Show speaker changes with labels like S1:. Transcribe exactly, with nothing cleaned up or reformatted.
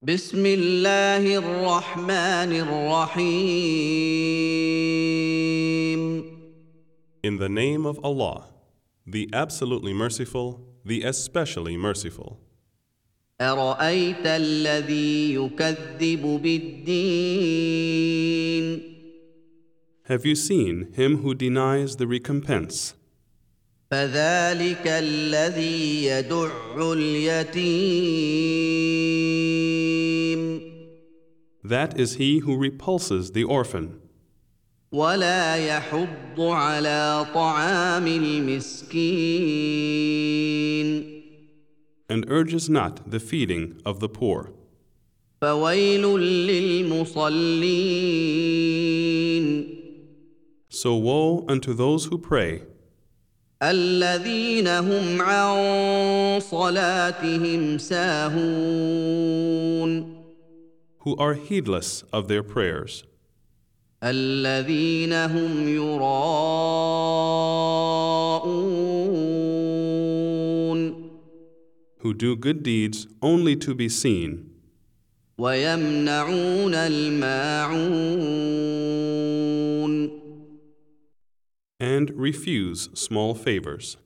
S1: بسم الله الرحمن الرحيم
S2: In the name of Allah, the absolutely merciful, the especially merciful.
S1: أرأيت الذي يكذب بالدين
S2: Have you seen him who denies the recompense?
S1: فذلك الذي يدع اليتيم
S2: That is he who repulses the orphan
S1: ولا يحض على طعام المسكين
S2: and urges not the feeding of the poor.
S1: فويل للمصلين
S2: So woe unto those who pray,
S1: الذين هم عن صلاتهم ساهون
S2: who are heedless of their prayers,
S1: الذين هم يراءون
S2: who do good deeds only to be seen,
S1: ويمنعون الماعون
S2: and refuse small favors.